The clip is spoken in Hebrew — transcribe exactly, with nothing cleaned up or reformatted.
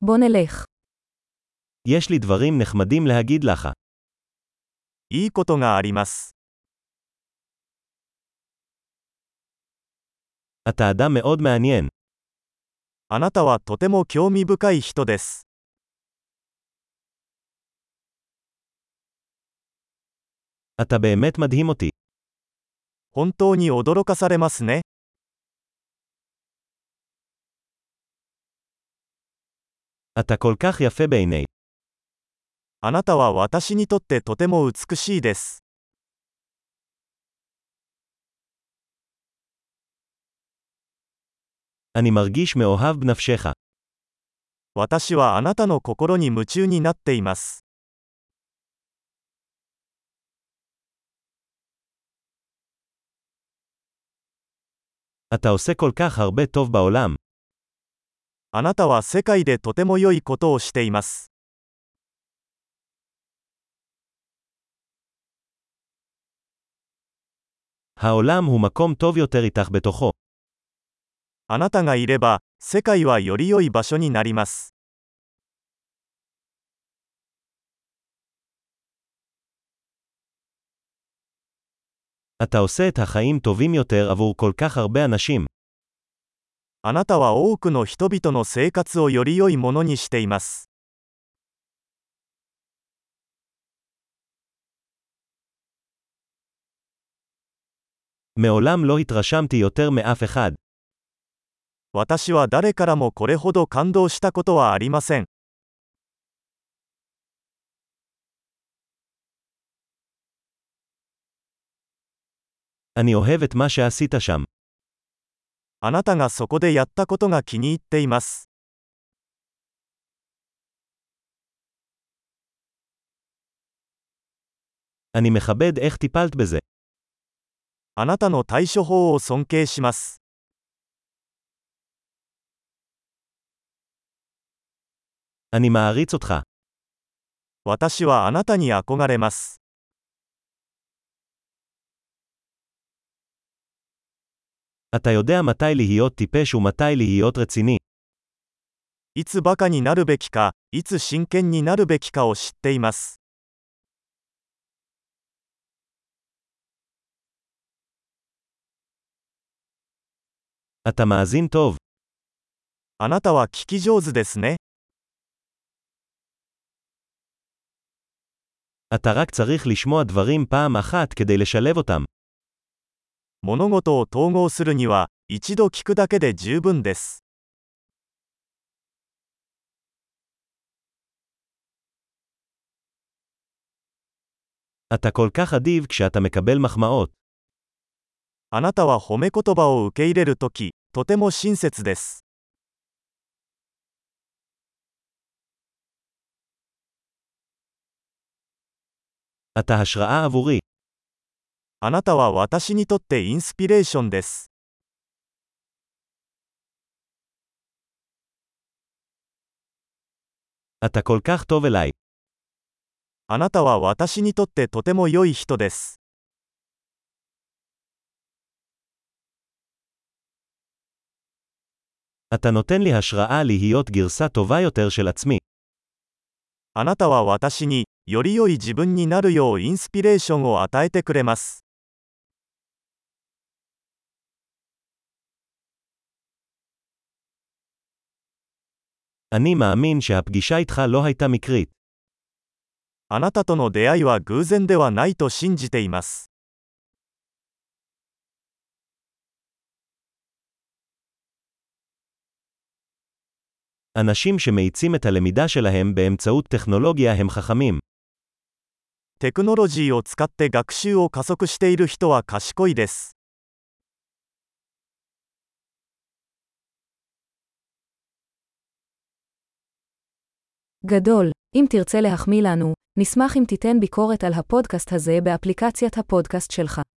בוא נלך. יש לי דברים נחמדים להגיד לך. いいことがあります。 אתה אדם מאוד מעניין. あなたはとても興味深い人です。 אתה באמת מדהים אותי. 本当に驚かされますね。 אתה כל כך יפה בעיני. あなたは私にとってとても美しいです。 אני מרגיש מאוהב בנפשך. 私はあなたの心に夢中になっています。 אתה עושה כל כך הרבה טוב בעולם. あなたは世界でとても良いことをしています。 העולם הוא מקום טוב יותר איתך בתוכו. あなたがいれば、世界はより良い場所になります。 אתה עושה את החיים טובים יותר עבור כל כך הרבה אנשים. あなたは多くの人々の生活をより良いものにしています。 מעולם לא התרשמתי יותר מאף אחד. 私は誰からもこれほど感動したことはありません。 אני אוהב את מה שעשית שם. あなたがそこでやったことが気に入っています。 אני מכבד איך טיפלת בזה. あなたの対処法を尊敬します。 אני מעריץ אותך. 私はあなたに憧れます。 אתה יודע מתי להיות טיפש ומתי להיות רציני. いつバカになるべきか、いつ真剣になるべきかを知っています。 אתה מאזין טוב. あなたは聞き上手ですね。 אתה רק צריך לשמוע דברים פעם אחת כדי לשלב אותם. 物事を統合するには、一度聞くだけで十分です。 אתה כל כך אדיב כשאתה מקבל מחמאות. あなたは褒め言葉を受け入れるとき、とても親切です。 אתה השראה עבורי. あなたは私にとってインスピレーションです。 אתה כל כך טוב אליי. あなたは私にとってとても良い人です。 אתה נותן לי השראה להיות גרסה טובה יותר של עצמי. あなたは私に、より良い自分になるようインスピレーションを与えてくれます。 אני מאמין שהפגישה איתך לא הייתה מקרית. あなたとの出会いは偶然ではないと信じています。 אנשים שמאיצים את הלמידה שלהם באמצעות טכנולוגיה הם חכמים. テクノロジーを使って学習を加速している人は賢いです。 גדול. אם תרצה להחמיא לנו, נשמח אם תיתן ביקורת על הפודקאסט הזה באפליקציית הפודקאסט שלך.